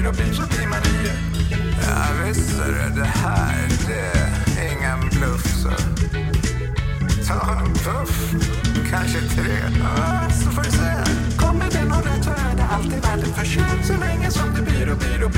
byråbil så blir man i. Ja visst är det här, det är ingen bluff så. Ta en puff, kanske 3, så får du säga. Kommer det någon rätt så är det alltid värt ett försök. Så länge som det byråbil